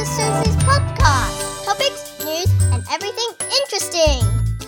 is Susie's podcast. Topics, news, and everything interesting.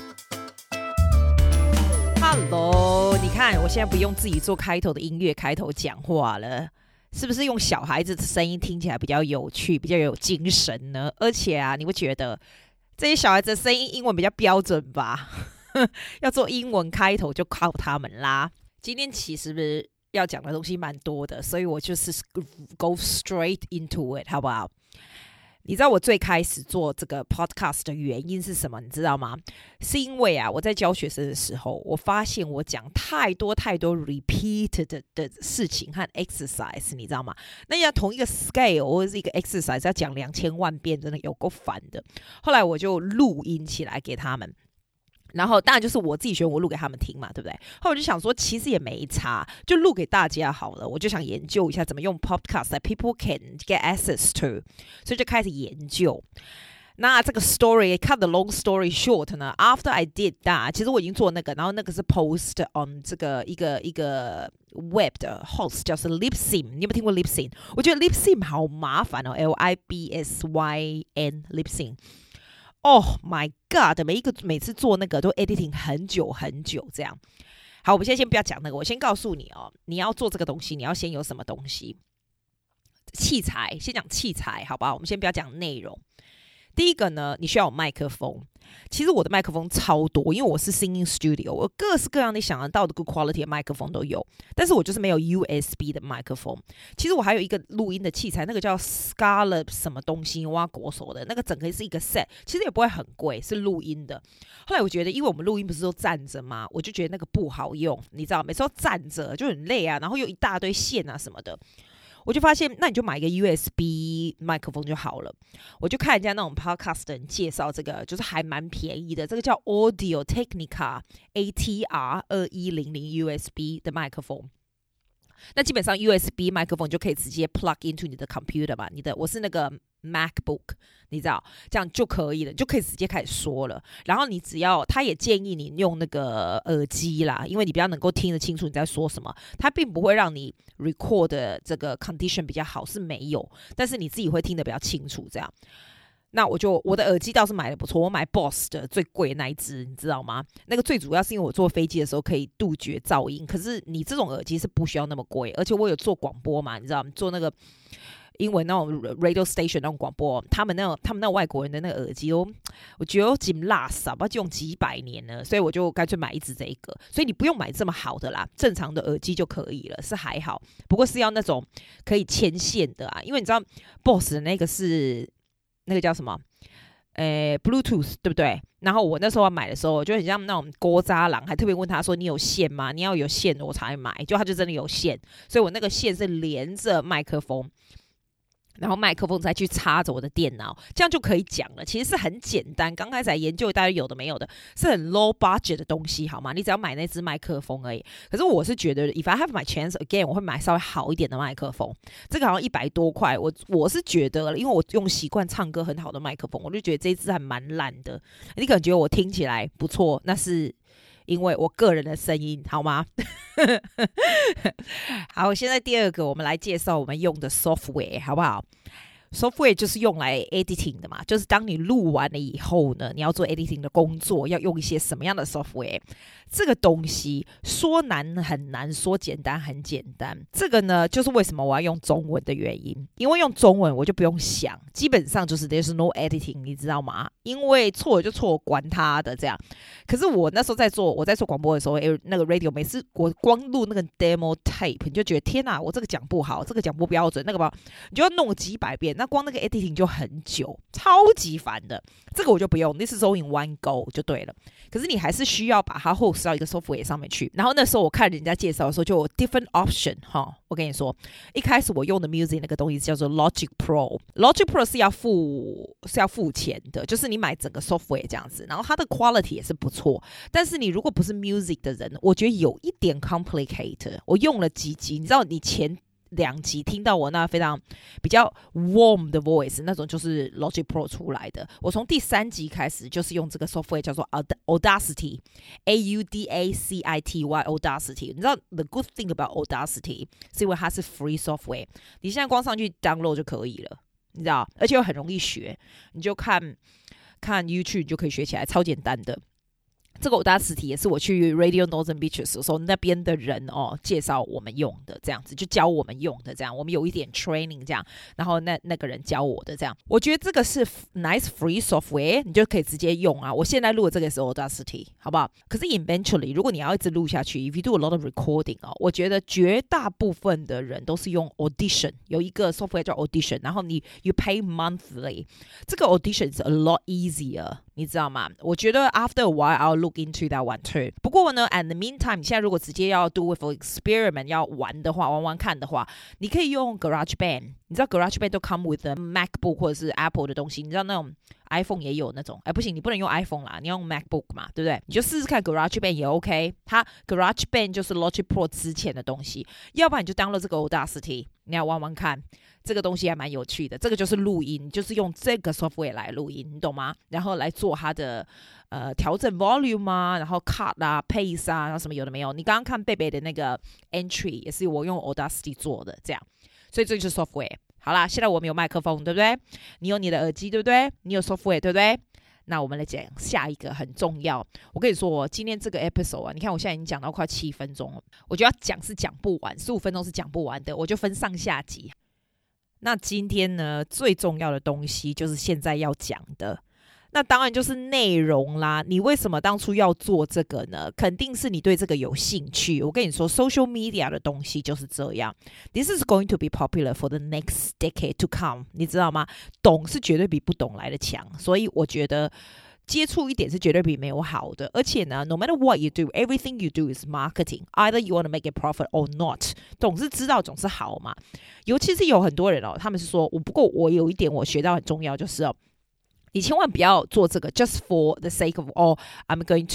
Hello， 你看我现在不用自己做開頭的音樂開頭講話了，是不是用小孩子的聲音聽起來比較有趣，比較有精神呢？而且啊，你會覺得這些小孩子的聲音英文比較標準吧？要做英文開頭就靠他們啦。今天其實要講的東西蠻多的，所以我就是 go straight into it， 好不好？你知道我最開始做這個 podcast 的原因是什麼？你知道嗎？是因為啊，我在教學生的時候，我發現我講太多 repeated 的事情和 exercise， 你知道嗎？那要同一個 scale 或者是一個 exercise 要講2000萬遍，真的有夠煩的。後來我就錄音起來給他們。然後當然就是我自己學，我錄給他們聽嘛，對不对？後來我就想說，其實也沒差，就錄給大家好了。我就想研究一下怎麼用 podcast that people can get access to， 所以就開始研究。那這個 story cut the long story short 呢 ，after I did that， 其實我已經做那個，然後那個是 post on 這個一個 web 的 host 叫做 Libsyn， 你有沒有聽過 Libsyn？ 我覺得 Libsyn 好麻煩哦 ，Libsyn。Oh my god！ 每次做那個都 editing 很久這樣。好，我們先不要講那個，我先告訴你哦，你要做這個東西，你要先有什麼東西？器材，先講器材，好不好？我們先不要講內容。第一個呢，你需要有麥克風。其實我的麥克風超多，因為我是 singing studio， 我各式各樣你想得到的 good quality 的麥克風都有，但是我就是沒有 USB 的麥克風。其實我還有一個錄音的器材，那個叫 Scarlett 什麼東西，挖國手的那個，整個是一個 set， 其實也不會很貴，是錄音的。後來我覺得，因為我們錄音不是都站着嗎？我就覺得那個不好用，你知道，每次都站着就很累啊，然後又一大堆線啊什麼的。我就發現，那你就買一個 USB 麥克風就好了。我就看人家那種 podcast 的人介紹這個，就是還蠻便宜的。這個叫 Audio Technica ATR2100 USB 的麥克風。那基本上 USB 麥克風就可以直接 plug into 你的 computer 嘛。我是那個 MacBook， 你知道，這樣就可以了，就可以直接開始說了。然後你只要，他也建議你用那個耳機啦，因為你比較能夠聽得清楚你在說什麼。他並不會讓你 record 的這個 condition 比較好，是沒有，但是你自己會聽得比較清楚這樣。那我的耳機倒是買的不錯，我買 Boss 的最貴的那一隻，你知道嗎？那個最主要是因為我坐飛機的時候可以杜絕噪音，可是你這種耳機是不需要那麼貴，而且我有做廣播嘛，你知道嗎？做那個英文那種 radio station 那種廣播，他們那外國人的那個耳機我覺得幾垃圾，不知道用幾百年了，所以我就乾脆買一支這個。所以你不用買這麼好的啦，正常的耳機就可以了，是還好。不過是要那種可以牽線的啊，因為你知道 Boss 的那個是那個叫什麼？Bluetooth 對不對？然後我那時候買的時候，我就很像那種郭渣郎，還特別問他說：“你有線嗎？你要有線我才買。”就他就真的有線，所以我那個線是連着麥克風。然後麥克風再去插着我的電腦，這樣就可以講了。其實是很簡單，剛開始來研究大家有的沒有的，是很 low budget 的東西，好嗎？你只要買那支麥克風而已。可是我是覺得 ，if I have my chance again， 我會買稍微好一點的麥克風。這個好像100多塊，我是覺得，因為我用習慣唱歌很好的麥克風，我就覺得這一支還蠻爛的。你可能覺得我聽起來不錯，那是因為我個人的聲音，好嗎？好，現在第二個，我們來介紹我們用的 software， 好不好？Software 就是用來 editing 的嘛，就是當你錄完了以後呢，你要做 editing 的工作，要用一些什麼樣的 software？ 這個東西說難很難，說簡單很簡單。這個呢，就是為什麼我要用中文的原因，因為用中文我就不用想，基本上就是 there's no editing， 你知道嗎？因為錯了就錯，管他的這樣。可是我那時候在做廣播的時候，那個 radio 每次我光錄那個 demo tape， 你就覺得天哪，我這個講不好，這個講不標準，那個吧，你就要弄幾百遍，那光那個 editing 就很久，超級煩的。這個我就不用 ，this is all in one go 就對了。可是你還是需要把它 host 到一個 software 上面去。然後那時候我看人家介紹的時候，就有 different option 哈。我跟你說，一開始我用的 music 那個東西叫做 Logic Pro，Logic Pro 是要付錢的，就是你買整個 software 這樣子。然後它的 quality 也是不錯，但是你如果不是 music 的人，我覺得有一點 complicated。我用了幾集，你知道你前2集聽到我那非常比較 warm 的 voice， 那種就是 Logic Pro 出來的。我從第3集開始就是用這個 software 叫做 Audacity Audacity。你知道 the good thing about Audacity 是因為它是 free software， 你現在光上去 download 就可以了。 你知道，而且又很容易學，你就看 YouTube 你就可以學起来，超簡單的。這個 Audacity 也是我去 Radio Northern Beaches 的時候，那邊的人介紹我們用的，這樣子就教我們用的，這樣我們有一點 training 這樣，然後那個人教我的這樣，我覺得這個是 nice free software， 你就可以直接用啊。我現在錄的這個也是 Audacity， 好不好？可是 eventually 如果你要一直錄下去 ，if you do a lot of recording 我覺得絕大部分的人都是用 Audition， 有一個 software 叫 Audition， 然後you pay monthly， 這個 Audition is a lot easier。你知道嗎？我覺得 after a while I'll look into that one too。不過呢 ，at the meantime， 你現在如果直接要 do with experiment 要玩的話，玩看的話，你可以用 GarageBand。你知道 GarageBand 都 come with a MacBook 或者是 Apple 的東西。你知道那種 iPhone 也有那種，不行，你不能用 iPhone 啦，你要用 MacBook 嘛，對不對？你就試試看 GarageBand 也 OK。它 GarageBand 就是 Logic Pro 之前的東西，要不然你就 download 這個 Audacity， 你要玩看。這個東西還蠻有趣的，這個就是錄音，就是用這個 software 來錄音，你懂嗎？然後來做它的調整 volume 啊，然後 cut 啊 pace 啊，然後什麼有的沒有。你剛剛看貝貝的那個 entry 也是我用 Audacity 做的，這樣，所以這就是 software。好啦，現在我們有麥克風，對不對？你有你的耳機，對不對？你有 software，對不對？那我們來講下一個很重要。我跟你說，今天這個 episode 啊，你看我現在已經講到快7分鐘了，我覺得要講是講不完，15分鐘是講不完的，我就分上下集。那今天呢，最重要的東西就是現在要講的，那當然就是內容啦。你為什麼當初要做這個呢？肯定是你對這個有興趣。我跟你說 ，social media 的東西就是這樣。This is going to be popular for the next decade to come， 你知道嗎？懂是絕對比不懂來的強，所以我覺得接觸一點是絕對比沒有好的。而且呢 ，no matter what you do, everything you do is marketing. Either you want to make a profit or not. 總是知道總是好嘛。尤其是有很多人他們是說，不過我有一點我學到很重要，就是你千萬不要做這個 just for the sake of I'm going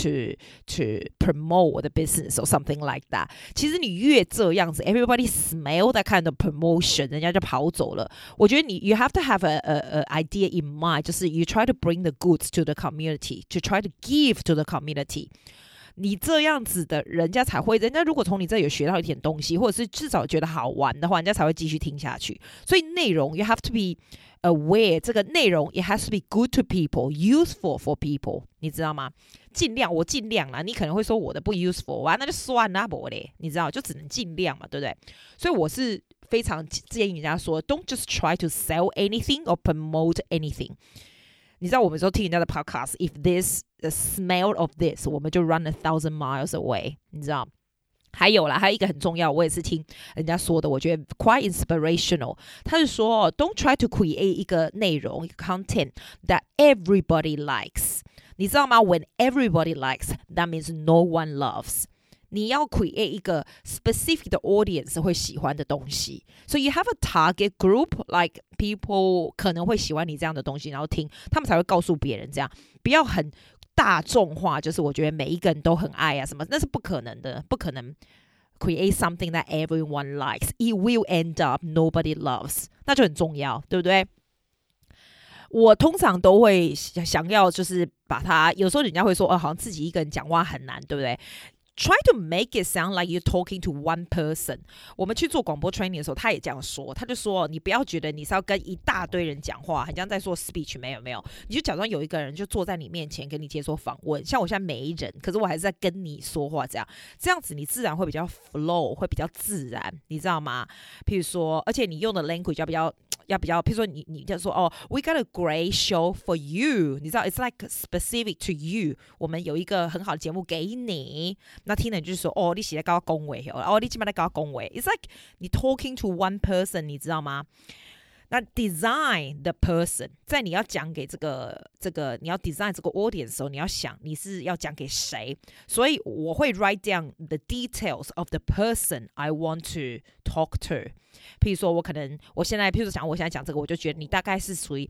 to promote the business or something like that。其實你越這樣子 ，everybody smell that kind of promotion， 人家就跑走了。我覺得you have to have a idea in mind， 就是 you try to bring the goods to the community， to try to give to the community。你這樣子的人家才會，人家如果從你這裡有學到一點東西，或者是至少覺得好玩的話，人家才會繼續聽下去。所以內容 you have to be aware， 這個內容 it has to be good to people, useful for people， 你知道嗎？我盡量啦。你可能會說我的不 useful 啊，那就算啦，不嘞，你知道，就只能盡量嘛，對不對？所以我是非常建議人家說 ，don't just try to sell anything or promote anything。你知道我們說聽人家的 podcast，if this the smell of this， 我們就 run 1,000 miles away。你知道？還有一個很重要，我也是聽人家說的，我覺得 quite inspirational。他是說 ，don't try to create 一個內容，一個 content that everybody likes。你知道嗎 ？When everybody likes, that means no one loves。你要 create 一個 specific 的 audience 會喜歡的東西，所以 you have a target group like people 可能會喜歡你這樣的東西，然後聽，他們才會告訴別人這樣，不要很大眾化，就是我覺得每一個人都很愛啊什麼，那是不可能的，不可能 create something that everyone likes. It will end up nobody loves， 那就很重要，對不對？我通常都會想要就是把它，有時候人家會說好像自己一個人講話很難，對不對？Try to make it sound like you're talking to one person。我們去做廣播 training 的時候，他也這樣說，他就說你不要覺得你是要跟一大堆人講話，很像在做 speech， 沒有，你就假裝有一個人就坐在你面前跟你接受訪問，像我現在沒人，可是我還是在跟你說話，這樣子你自然會比較 flow， 會比較自然，你知道嗎？譬如說，而且你用的 language 要比較，譬如說你就說we got a great show for you， 你知道 it's like specific to you， 我們有一個很好的節目給你，那聽人就是說你是在跟我講話，你現在在跟我講話 ，it's like 你 talking to one person， 你知道嗎？那 design the person， 在你要講給這個你要 design 這個 audience 的時候，你要想你是要講給誰，所以我會 write down the details of the person I want to talk to。譬如說我現在講這個，我就覺得你大概是屬於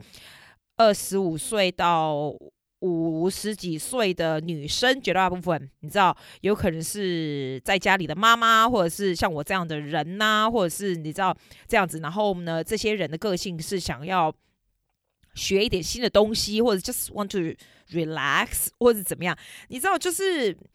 25歲到50幾歲的女生，絕大部分你知道，有可能是在家裡的媽媽，或者是像我這樣的人吶，或者是你知道這樣子。然後呢，這些人的個性是想要學一點新的東西，或者 just want to relax， 或者怎麼樣，你知道，就是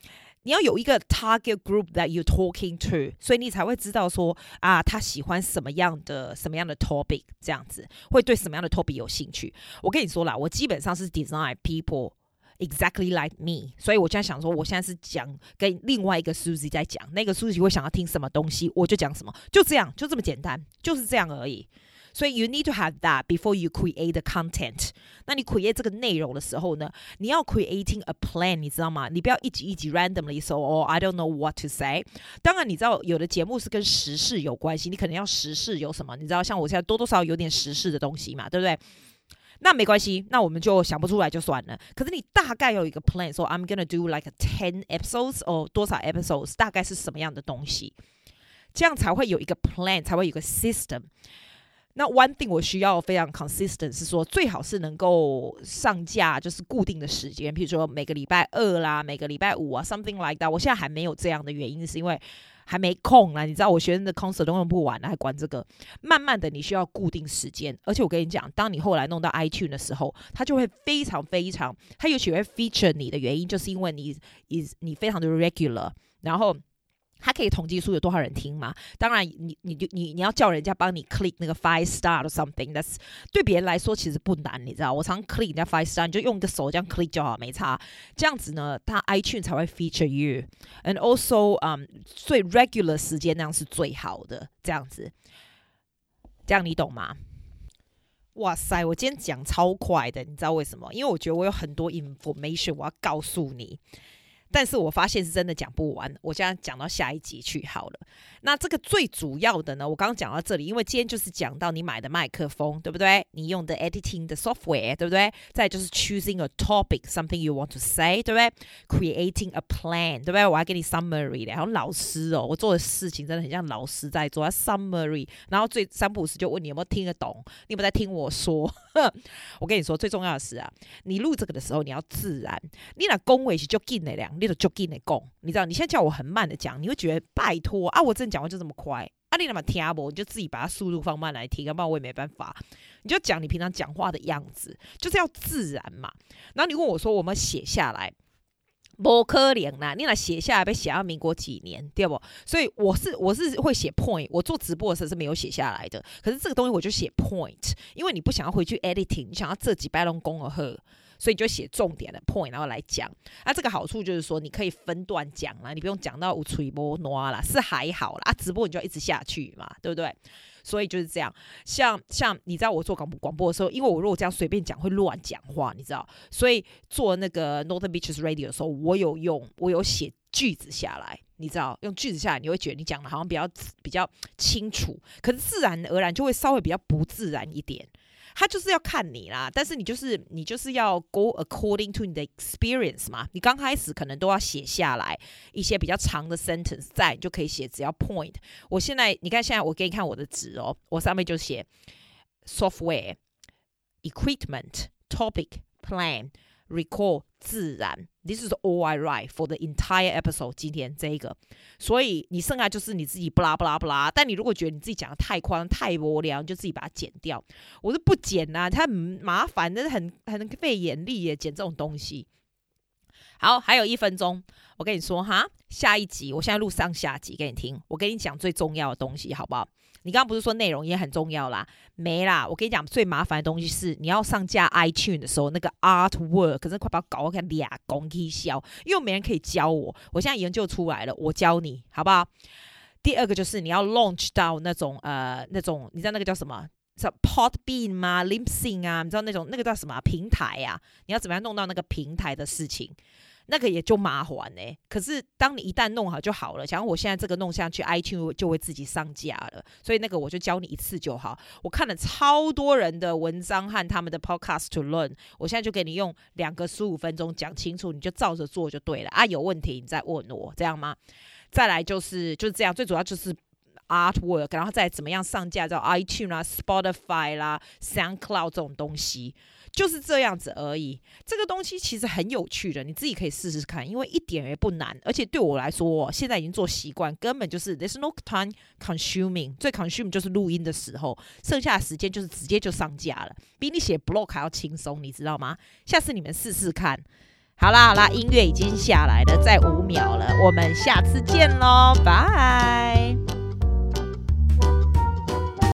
你要有一個 target group that you're talking to， 所以你才會知道說啊，他喜歡什麼樣的 topic， 這樣子會對什麼樣的 topic 有興趣。我跟你說啦，我基本上是 design people exactly like me， 所以我現在想說，我現在是講跟另外一個 Susie 在講，那個 Susie 會想要聽什麼東西，我就講什麼，就這樣，就這麼簡單，就是這樣而已。所以 you need to have that before you create the content。那你 create 這個內容的時候呢，你要 creating a plan， 你知道嗎？你不要一集 randomly 說哦 I don't know what to say。當然你知道有的節目是跟時事有關係，你可能要時事有什麼，你知道像我現在多多少少有點時事的東西嘛，對不對？那沒關係，那我們就想不出來就算了。可是你大概有一個 plan， 說 I'm gonna do like 10 episodes 或多少 episodes， 大概是什麼樣的東西，這樣才會有一個 plan， 才會有一個 system。那 one thing 我需要非常 consistent 是說，最好是能夠上架就是固定的時間，譬如說每個禮拜2啦，每個禮拜5啊 ，something like that。我現在還沒有這樣的原因是因為還沒空啦，你知道我學生的 concert 都用不完了，還管這個。慢慢的你需要固定時間，而且我跟你講，當你後來弄到 iTunes 的時候，它就會非常非常，它尤其會 feature 你的原因，就是因為你非常的 regular， 然後它可以統計出有多少人聽嘛？當然你要叫人家幫你 click 那個 5 star or something， that's 對別人來說其實不難，你知道？我常 click 人家5 star， 你就用個手這樣 click 就好，沒差。這樣子呢，它 iTunes 才會 feature you，and also 最 regular 時間那樣是最好的，這樣子，這樣你懂嗎？哇塞，我今天講超快的，你知道為什麼？因為我覺得我有很多 information 我要告訴你。但是我發現是真的講不完，我現在講到下一集去好了。那這個最主要的呢，我剛剛講到這裡，因為今天就是講到你買的麥克風，對不對？你用的 editing 的 software， 對不對？再就是 choosing a topic, something you want to say， 對不對？ Creating a plan， 對不對？我還給你 summary 的，好像老師哦，我做的事情真的很像老師在做，summary， 然後最三不五時就問你有沒有聽得懂，你有沒有在聽我說？我跟你說，最重要的是啊，你錄這個的時候你要自然，你那講話是就緊的兩。你就緊的講，你知道？你現在叫我很慢的講，你會覺得拜託啊！我真的講話就這麼快啊！你那麼聽不，你就自己把它速度放慢來聽，要不然我也沒辦法。你就講你平常講話的樣子，就是要自然嘛。然後你問我說，我們寫下來，不可能啦！你那寫下來被寫到民國幾年，對不？所以我是會寫 point， 我做直播的時候是沒有寫下來的。可是這個東西我就寫 point， 因為你不想要回去 editing， 你想要這幾擺攏講而好。所以你就寫重點的 point， 然後來講。那這個好處就是說，你可以分段講啦，你不用講到有嘴無爛啦，是還好啦。啊，直播你就要一直下去嘛，對不對？所以就是這樣。像你知道我做廣播的時候，因為我如果這樣隨便講會亂講話，你知道，所以做那個 Northern Beaches Radio 的時候，我有寫句子下來，你知道，用句子下來，你會覺得你講的好像比較清楚，可是自然而然就會稍微比較不自然一點。他就是要看你啦，但是你就是要 go according to 你的 experience 嘛。你剛開始可能都要寫下來一些比較長的 sentence， 再你就可以寫只要 point。我現在你看，現在我給你看我的紙哦，我上面就寫 software、equipment、topic、plan、record 自然。This is all I write for the entire episode。今天這一個，所以你剩下就是你自己不拉不拉不拉。但你如果覺得你自己講的太誇張、太無聊，你就自己把它剪掉。我是不剪啊，它很麻煩，但是很費眼力耶，剪這種東西。好，還有1分鐘，我跟你說哈，下一集我現在錄上下集給你聽。我跟你講最重要的東西，好不好？你剛剛不是說內容也很重要啦？沒啦，我跟你講最麻煩的東西是你要上架 iTunes 的時候，那個 artwork 可是快把我搞我看倆公起笑，因為沒人可以教我。我現在研究出來了，我教你好不好？第二個就是你要 launch 到那種你知道那個叫什麼？叫 Podbean 嗎 ？Libsyn 啊？你知道那個叫什麼平台啊？你要怎麼樣弄到那個平台的事情？那個也就麻煩欸。可是當你一旦弄好就好了。假如我現在這個弄下去 ，iTunes 就會自己上架了。所以那個我就教你一次就好。我看了超多人的文章和他們的 podcast to learn， 我現在就給你用2個15分鐘講清楚，你就照着做就對了啊。有問題你再問我，這樣嗎？再來就是這樣，最主要就是artwork， 然後再怎麼樣上架到 iTunes 啦、Spotify 啦、SoundCloud 這種東西。就是這樣子而已。這個東西其實很有趣的，你自己可以試試看，因為一點也不難。而且對我來說，現在已經做習慣，根本就是 there's no time consuming。最 consuming 就是錄音的時候，剩下的時間就是直接就上架了，比你寫 blog 還要輕鬆，你知道嗎？下次你們試試看。 好啦，音樂已經下來了，再5秒了，我們下次見嘍，拜。